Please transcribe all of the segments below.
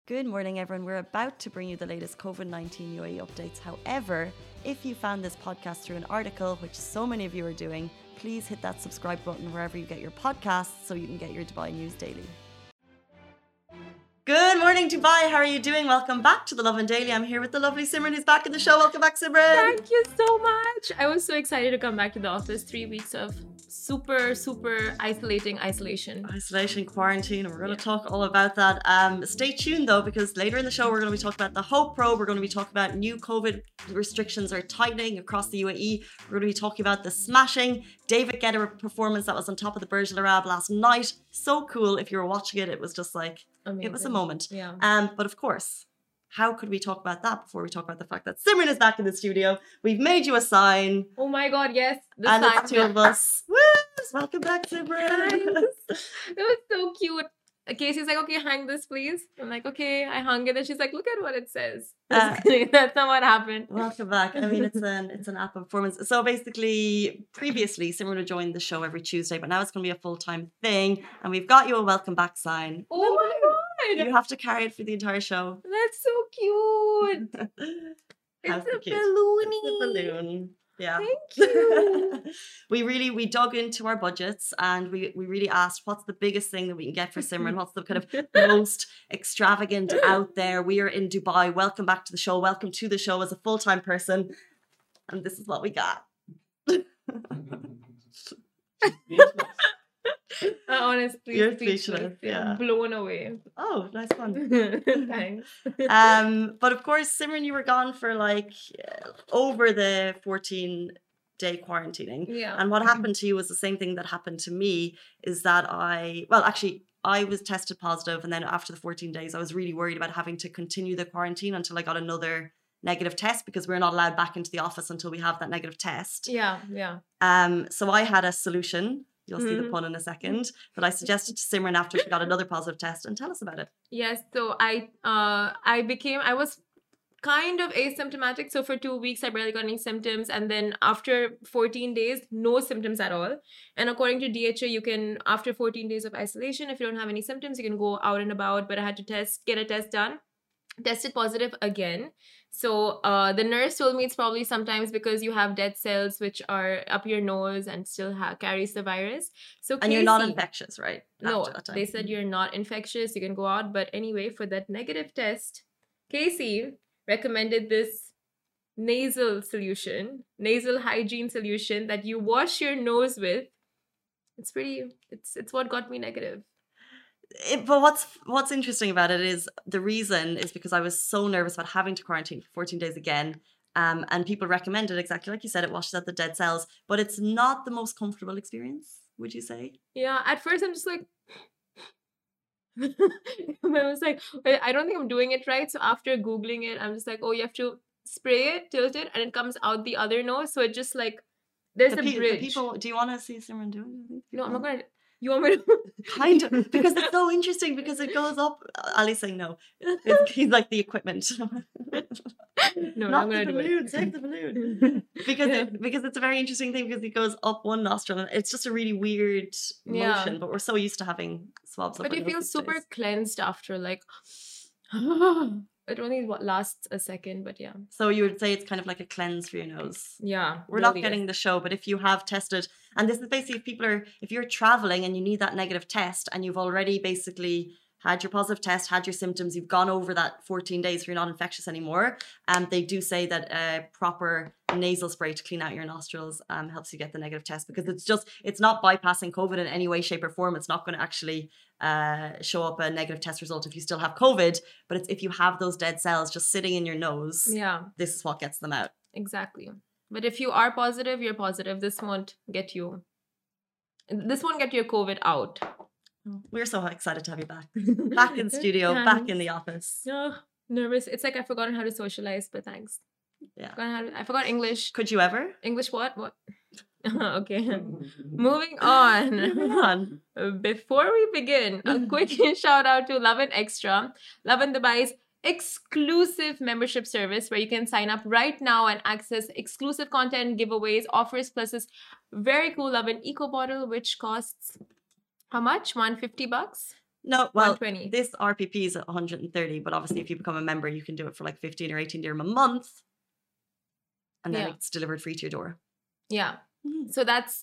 Good morning, everyone. We're about to bring you the latest COVID-19 UAE updates. However, if you found this podcast through an article, which so many of you are doing, please hit that subscribe button wherever you get your podcasts so you can get your Dubai news daily. Good morning, Dubai. How are you doing? Welcome back to the Lovin Daily. I'm here with the lovely Simran, who's back in the show. Welcome back, Simran. Thank you so much. I was so excited to come back to the office. 3 weeks of super isolation, quarantine, and we're going to talk all about that. Stay tuned though, because later in the show we're going to be talking about the Hope Pro. We're going to be talking about new COVID restrictions are tightening across the UAE. We're going to be talking about the smashing David Guetta performance that was on top of the Burj Al Arab last night. So cool. If you were watching it, it was just like amazing. It was a moment. Yeah. But of course, how could we talk about that before we talk about the fact that Simran is back in the studio? We've made you a sign. Oh my God, yes. And it's two of us. Woo! Welcome back, Simran. It was so cute. Casey's like, okay, hang this, please. I'm like, okay, I hung it. And she's like, look at what it says. That's not what happened. Welcome back. I mean, it's an app performance. So basically, previously, Simran would join the show every Tuesday, but now it's going to be a full-time thing. And we've got you a welcome back sign. Oh my God. You have to carry it for the entire show. That's so cute. It's a balloon. It's a balloon. Yeah. Thank you. we dug into our budgets and we really asked what's the biggest thing that we can get for Simran? What's the kind of most extravagant out there? We are in Dubai. Welcome back to the show. Welcome to the show as a full-time person. And this is what we got. Honestly, you're speechless. Yeah. Blown away. Oh, nice one. Thanks. But of course, Simran, you were gone for like over the 14-day quarantining. Yeah. And what happened to you was the same thing that happened to me, is that I was tested positive, and then after the 14 days, I was really worried about having to continue the quarantine until I got another negative test, because we're not allowed back into the office until we have that negative test. Yeah. So I had a solution. You'll see the pun in a second. But I suggested to Simran after she got another positive test, and tell us about it. Yes. So I was kind of asymptomatic. So for 2 weeks, I barely got any symptoms. And then after 14 days, no symptoms at all. And according to DHA, you can, after 14 days of isolation, if you don't have any symptoms, you can go out and about. But I had to get a test done. Tested positive again. So the nurse told me it's probably sometimes because you have dead cells which are up your nose and still carries the virus. So and you're not infectious, right? No, they said you're not infectious. You can go out. But anyway, for that negative test, Casey recommended this nasal hygiene solution that you wash your nose with. It's what got me negative. But what's interesting about it is the reason is because I was so nervous about having to quarantine for 14 days again. And people recommended, exactly like you said, it washes out the dead cells, but it's not the most comfortable experience, would you say? Yeah, at first I'm just like, I was like, I don't think I'm doing it right. So after Googling it, I'm just like, oh, you have to spray it, tilt it, and it comes out the other nose. So it just like, there's a bridge. Do you want to see Simran doing it? No, I'm not going to. You want me to? Kind of, because it's so interesting, because it goes up. Ali's saying no. He's like the equipment. No, not I'm the gonna balloon. do it. Save the balloon. because it's a very interesting thing, because it goes up one nostril and it's just a really weird motion. But we're so used to having swabs. But you feel super cleansed after, like. It only lasts a second, but yeah. So you would say it's kind of like a cleanse for your nose. Yeah. We're not getting the show, but if you have tested, and this is basically if you're traveling and you need that negative test and you've already basically had your positive test, had your symptoms, you've gone over that 14 days, you're not infectious anymore. They do say that a proper nasal spray to clean out your nostrils helps you get the negative test, because it's not bypassing COVID in any way, shape or form. It's not going to actually show up a negative test result if you still have COVID, but it's if you have those dead cells just sitting in your nose, this is what gets them out. Exactly. But if you are positive, you're positive. This won't get your COVID out. We're so excited to have you back in studio, back in the office. Oh, nervous. It's like I've forgotten how to socialize, but thanks. Yeah. I forgot English. Could you ever? English what? Okay. Moving on. Before we begin, a quick shout out to Lovin Extra, Lovin Dubai's exclusive membership service where you can sign up right now and access exclusive content, giveaways, offers, plus this very cool Lovin Eco bottle, which costs how much? $150? No, well, 120. this RPP is at 130, but obviously if you become a member, you can do it for like 15 or 18 dirham a month. And then it's delivered free to your door. Yeah. Mhm. So that's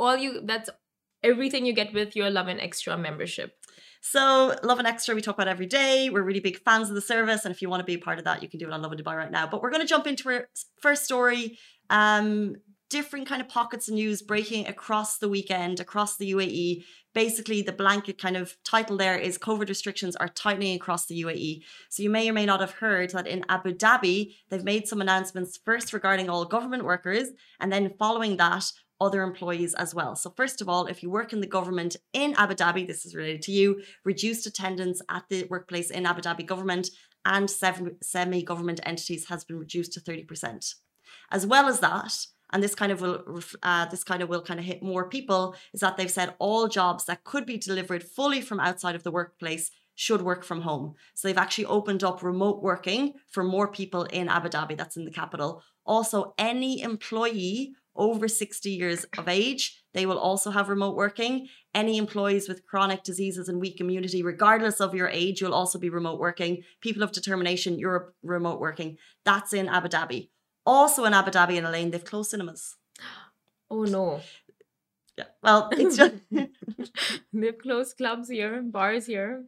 everything you get with your Lovin Extra membership. So Lovin Extra, we talk about every day. We're really big fans of the service. And if you want to be a part of that, you can do it on Lovin Dubai right now. But we're going to jump into our first story. Different kind of pockets of news breaking across the weekend, across the UAE. Basically, the blanket kind of title there is COVID restrictions are tightening across the UAE. So you may or may not have heard that in Abu Dhabi, they've made some announcements first regarding all government workers, and then following that, other employees as well. So first of all, if you work in the government in Abu Dhabi, this is related to you, reduced attendance at the workplace in Abu Dhabi government and semi-government entities has been reduced to 30%. As well as that, and this kind of will hit more people, is that they've said all jobs that could be delivered fully from outside of the workplace should work from home. So they've actually opened up remote working for more people in Abu Dhabi, that's in the capital. Also, any employee over 60 years of age, they will also have remote working. Any employees with chronic diseases and weak immunity, regardless of your age, you'll also be remote working. People of determination, you're remote working. That's in Abu Dhabi. Also in Abu Dhabi and Elaine, they've closed cinemas. Oh no. Yeah, well, it's just... They've closed clubs here, bars here.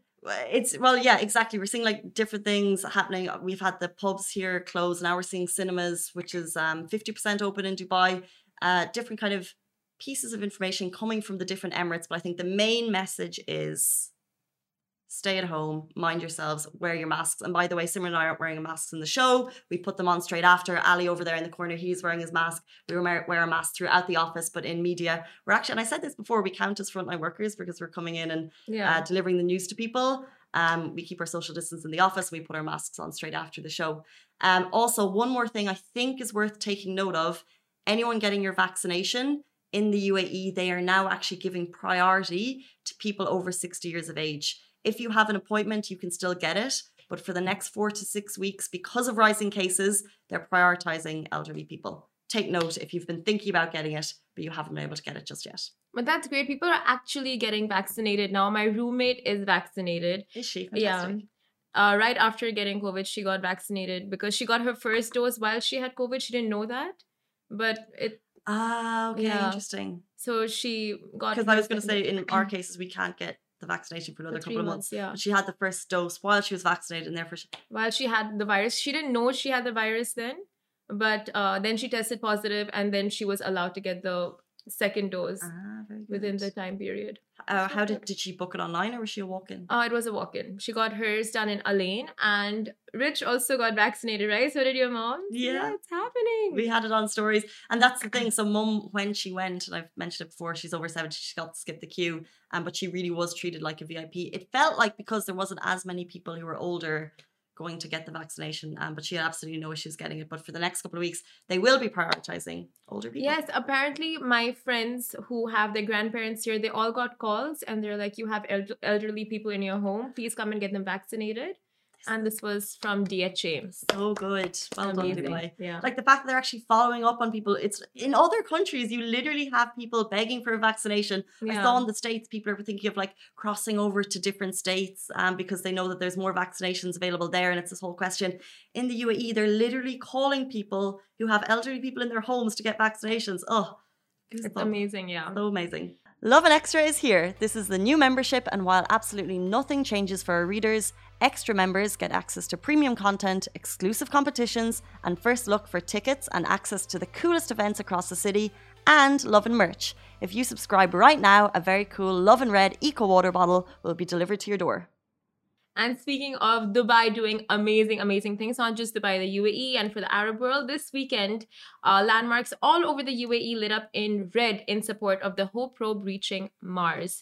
Yeah, exactly. We're seeing like different things happening. We've had the pubs here closed. Now we're seeing cinemas, which is 50% open in Dubai. Different kind of pieces of information coming from the different Emirates. But I think the main message is stay at home, mind yourselves, wear your masks. And by the way, Simran and I aren't wearing masks in the show. We put them on straight after. Ali over there in the corner, he's wearing his mask. We wear a mask throughout the office, but in media, we're actually, and I said this before, we count as frontline workers because we're coming in and delivering the news to people. We keep our social distance in the office. We put our masks on straight after the show. Also, one more thing I think is worth taking note of. Anyone getting your vaccination in the UAE, they are now actually giving priority to people over 60 years of age. If you have an appointment, you can still get it. But for the next 4 to 6 weeks, because of rising cases, they're prioritizing elderly people. Take note if you've been thinking about getting it, but you haven't been able to get it just yet. But that's great. People are actually getting vaccinated now. My roommate is vaccinated. Is she? Fantastic. Yeah. Right after getting COVID, she got vaccinated because she got her first dose while she had COVID. She didn't know that. But it... okay, interesting. So she got... Because I was going to say, in our cases, we can't get the vaccination for another couple of months. Yeah. But she had the first dose while she was vaccinated, and therefore while she had the virus. She didn't know she had the virus then, but then she tested positive, and then she was allowed to get the second dose within the time period. How did she book it online, or was she a walk-in? It was a walk-in. She got hers done in Alain, and Rich also got vaccinated, right? So did your mom? Yeah, it's happening. We had it on stories, and that's the thing. So mum, when she went, and I've mentioned it before, she's over 70, she got to skip the queue, but she really was treated like a VIP. It felt like because there wasn't as many people who were older going to get the vaccination, but she had absolutely no issues getting it. But for the next couple of weeks, they will be prioritizing older people. Yes, apparently my friends who have their grandparents here, they all got calls and they're like, you have elderly people in your home, please come and get them vaccinated. And this was from DHA. So good. Well done, Dubai. Yeah. Like the fact that they're actually following up on people. It's in other countries, you literally have people begging for a vaccination. Yeah. I saw in the States, people are thinking of like crossing over to different states because they know that there's more vaccinations available there. And it's this whole question. In the UAE, they're literally calling people who have elderly people in their homes to get vaccinations. Oh, it's amazing. Yeah. So amazing. Lovin Extra is here. This is the new membership, and while absolutely nothing changes for our readers, extra members get access to premium content, exclusive competitions, and first look for tickets and access to the coolest events across the city, and Lovin merch. If you subscribe right now, a very cool Lovin Red Eco Water bottle will be delivered to your door. And speaking of Dubai doing amazing, amazing things, not just Dubai, the UAE, and for the Arab world, this weekend, landmarks all over the UAE lit up in red in support of the Hope probe reaching Mars.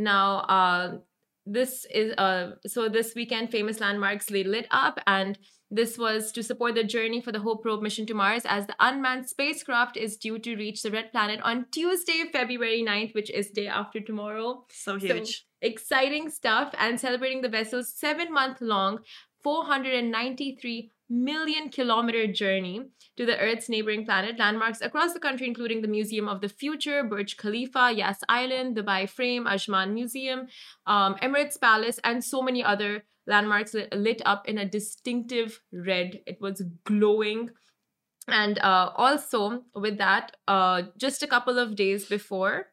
Now, this weekend, famous landmarks lit up, and this was to support the journey for the Hope probe mission to Mars, as the unmanned spacecraft is due to reach the red planet on Tuesday, February 9th, which is day after tomorrow. So huge. So, exciting stuff, and celebrating the vessel's 7-month-long 493 million kilometer journey to the Earth's neighboring planet. Landmarks across the country, including the Museum of the Future, Burj Khalifa, Yas Island, Dubai Frame, Ajman Museum, Emirates Palace, and so many other landmarks lit up in a distinctive red. It was glowing. And also, with that, just a couple of days before,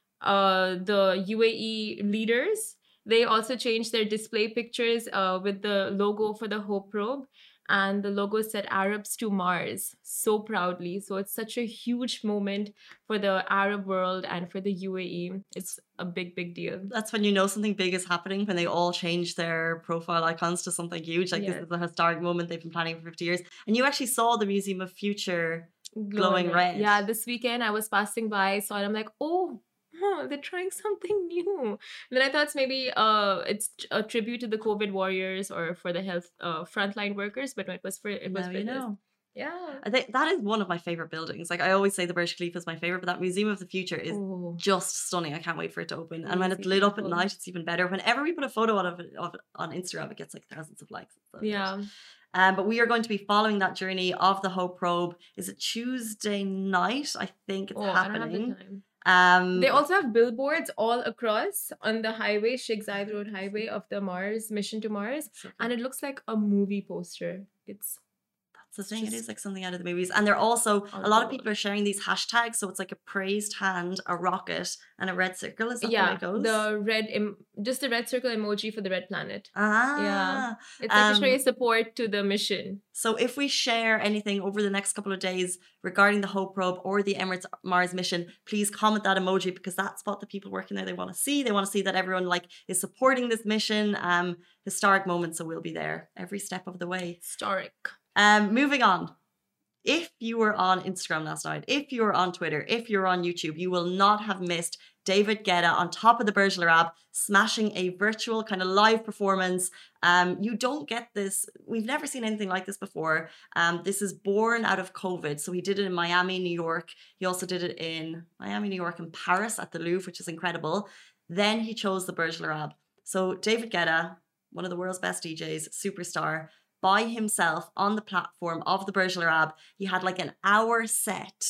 the UAE leaders, they also changed their display pictures with the logo for the Hope probe. And the logo said Arabs to Mars so proudly. So it's such a huge moment for the Arab world and for the UAE. It's a big, big deal. That's when you know something big is happening, when they all change their profile icons to something huge. Like this is a historic moment they've been planning for 50 years. And you actually saw the Museum of Future glowing red. Yeah, this weekend I was passing by, saw it. I'm like, oh, they're trying something new. And then I thought maybe it's a tribute to the COVID warriors or for the health frontline workers, but it was for this. Yeah. I think that is one of my favorite buildings. Like I always say the Burj Khalifa is my favorite, but that Museum of the Future is just stunning. I can't wait for it to open. And when it's lit up at night, it's even better. Whenever we put a photo of it on Instagram, it gets like thousands of likes. So yeah. But we are going to be following that journey of the Hope probe. Is it Tuesday night? I think it's happening. I don't have the time. They also have billboards all across on the highway, Sheikh Zayed Road Highway of the Mars mission to Mars, and it looks like a movie poster. That's the thing. It is like something out of the movies, and they're also a lot of people are sharing these hashtags. So it's like a praised hand, a rocket, and a red circle. Is that the way it goes? Just the red circle emoji for the red planet. Yeah, it's like to show your support to the mission. So if we share anything over the next couple of days regarding the Hope probe or the Emirates Mars mission, please comment that emoji, because that's what the people working there, they want to see. They want to see that everyone is supporting this mission. Historic moment. So we'll be there every step of the way. Historic. Moving on. If you were on Instagram last night, if you were on Twitter, if you're on YouTube, you will not have missed David Guetta on top of the Burj Al Arab, smashing a virtual kind of live performance. You don't get this. We've never seen anything like this before. This is born out of COVID. So he did it in Miami, New York. He also did it in Miami, New York, and Paris at the Louvre, which is incredible. Then he chose the Burj Al Arab. So David Guetta, one of the world's best DJs, superstar, by himself on the platform of the Burj Al Arab. He had like an hour set,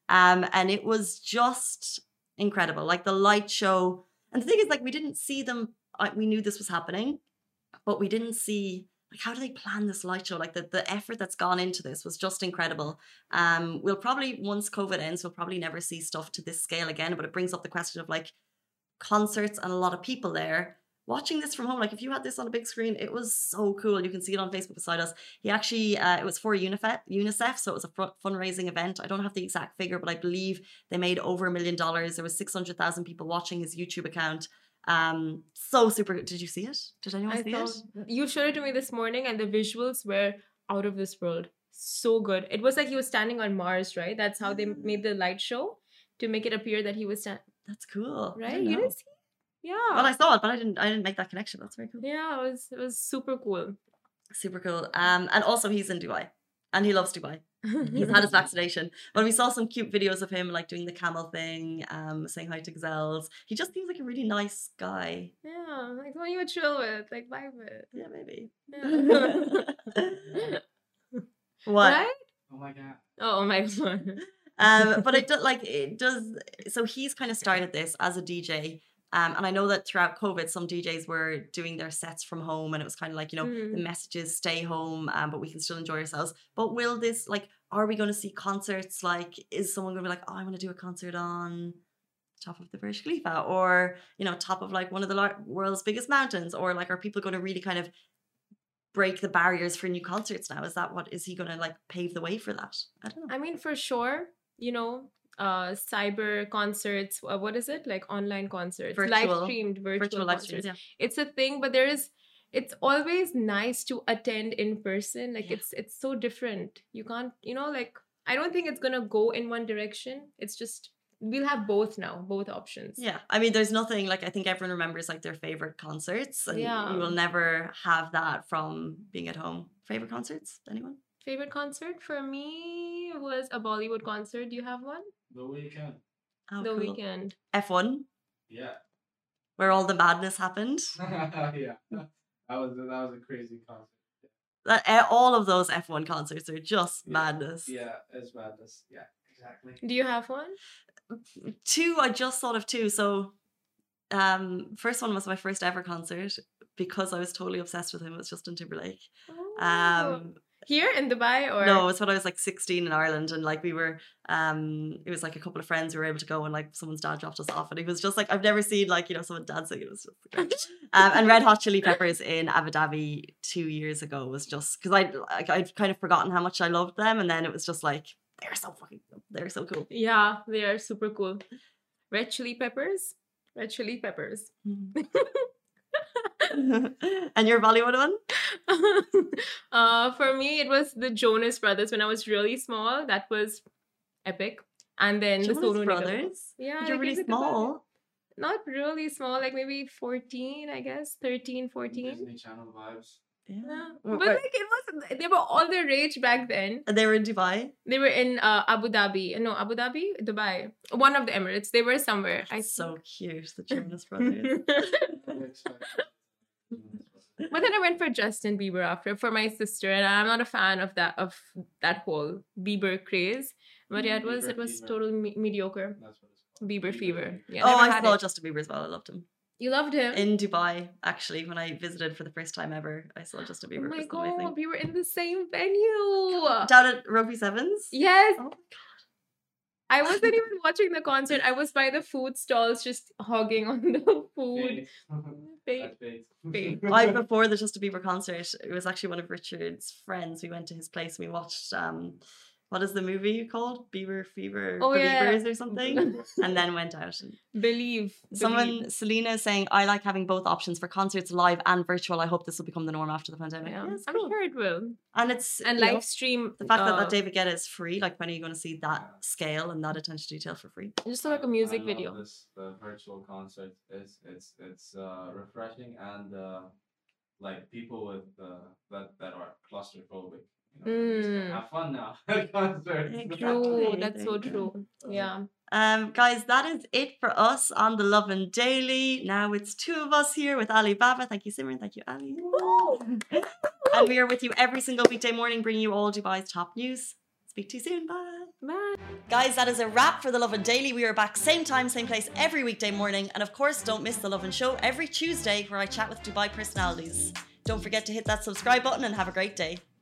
and it was just incredible. Like the light show. And the thing is, like, we didn't see them. We knew this was happening, but we didn't see, like, how do they plan this light show? Like the effort that's gone into this was just incredible. We'll probably, once COVID ends, we'll probably never see stuff to this scale again. But it brings up the question of like concerts and a lot of people there. Watching this from home, like if you had this on a big screen, it was so cool. You can see it on Facebook beside us. He actually, it was for UNICEF, so it was a fundraising event. I don't have the exact figure, but I believe they made over $1 million. There was 600,000 people watching his YouTube account. So super. Did you see it? Did anyone see it? You showed it to me this morning, and the visuals were out of this world. So good. It was like he was standing on Mars, right? That's how they made the light show, to make it appear that he was standing. That's cool. Right? You didn't see it? Yeah. Well, I saw it, but I didn't make that connection. That's very cool. Yeah, it was super cool. Super cool. And also he's in Dubai, and he loves Dubai. He's had his vaccination. But we saw some cute videos of him like doing the camel thing, saying hi to gazelles. He just seems like a really nice guy. Yeah, like someone you would chill with, like vibe with. Yeah, maybe. Yeah. What? Right? Oh my god. Oh my god. But it does. So he's kind of started this as a DJ. And I know that throughout COVID, some DJs were doing their sets from home, and it was kind of like, the messages, stay home, but we can still enjoy ourselves. But will this, are we going to see concerts? Like, is someone going to be like, oh, I want to do a concert on top of the Burj Khalifa, or, top of like one of the world's biggest mountains? Or like, are people going to really kind of break the barriers for new concerts now? Is he going to like pave the way for that? I don't know. I mean, for sure, cyber concerts, what is it, like online concerts, live streamed virtual live concerts, streams, yeah. It's a thing, but it's always nice to attend in person. Like it's so different. You can't, I don't think it's gonna go in one direction. It's just we'll have both now, both options. Yeah, I mean, there's nothing like, I think everyone remembers like their favorite concerts, and you will never have that from being at home. Favorite concerts, anyone? Favorite concert for me was a Bollywood concert. Do you have one? The Weeknd. Oh, The cool. Weeknd. F1? Yeah. Where all the madness happened? Yeah. That was a crazy concert. All of those F1 concerts are just madness. Yeah, it's madness. Yeah, exactly. Do you have one? Two, I just thought of two. So, first one was my first ever concert because I was totally obsessed with him. It was Justin Timberlake. Here in Dubai or No, it's when I was like 16 in Ireland, and like we were, it was like a couple of friends we were able to go, and like someone's dad dropped us off, and he was just like, I've never seen like, you know, someone dancing. It was just great. And Red Hot Chili Peppers in Abu Dhabi 2 years ago was just because I'd kind of forgotten how much I loved them, and then it was just like they're so cool. Yeah, they are super cool. Red Chili Peppers. And your Bollywood one? For me, it was the Jonas Brothers when I was really small. That was epic. And then the Jonas Sonu Nigam. Brothers? Yeah, You're I really guess it was small. not really small, like maybe 14, I guess. 13, 14. Disney Channel vibes. Yeah. Well, But like it was, they were all the rage back then. And they were in Dubai. They were in Abu Dhabi. No, Abu Dhabi? Dubai. One of the Emirates. They were somewhere. So cute, the Jonas Brothers. But then I went for Justin Bieber after for my sister, and I'm not a fan of that whole Bieber craze. But yeah, it was Fever. totally mediocre. That's what it's called. Bieber fever. Yeah, Oh, never I had saw it. Justin Bieber as well. I loved him. You loved him. In Dubai, actually, when I visited for the first time ever, I saw Justin Oh Bieber. my It was god, amazing. we were in the same venue. Down at Rugby Sevens? Yes, Oh, I wasn't even watching the concert. I was by the food stalls, just hogging on the food. That's big. Big. right before the Justin Bieber concert, it was actually one of Richard's friends. We went to his place and we watched what is the movie called? Bieber Fever, Oh, yeah. Believers or something, and then went out. And Believe. Selena is saying, I like having both options for concerts, live and virtual. I hope this will become the norm after the pandemic. Yeah, Yeah, it's I'm cool. sure it will. And it's And you know, live stream. the fact that David Guetta is free. Like, when are you going to see that scale and that attention to detail for free? Just like a music I love video. This, the virtual concert is it's refreshing and like people with that are claustrophobic. You know, just Mm. have fun now at concerts. True. Exactly. That's so true. Yeah. Guys, that is it for us on the Lovin Daily. Now it's two of us here with Ali Baba. Thank you, Simran. Thank you, Ali. And we are with you every single weekday morning, bringing you all Dubai's top news. Speak to you soon. Bye. Bye. Guys, that is a wrap for the Lovin Daily. We are back same time, same place every weekday morning. And of course, don't miss the Lovin Show every Tuesday where I chat with Dubai personalities. Don't forget to hit that subscribe button and have a great day.